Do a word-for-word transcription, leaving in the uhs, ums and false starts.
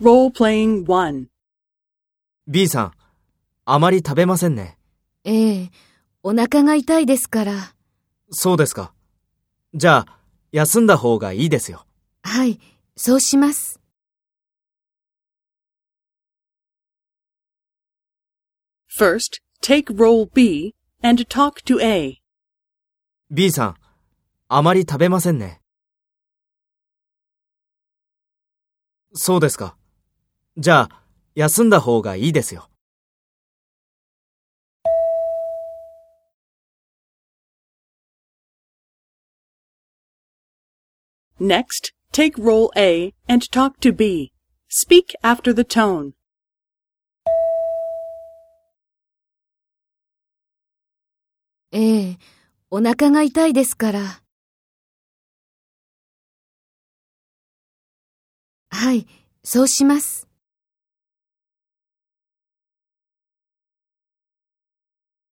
Role-playing one. B さん、あまり食べませんね。 ええ、お腹が痛いですから。 そうですか。じゃあ、休んだ方がいいですよ。 はい、そうします。 First, take role B and talk to A. B さん、あまり食べませんね。そうですか。じゃあ、休んだ方がいいですよ。 Next, take role A and talk to B. Speak after the tone. ええ、お腹が痛いですから。はい、そうします。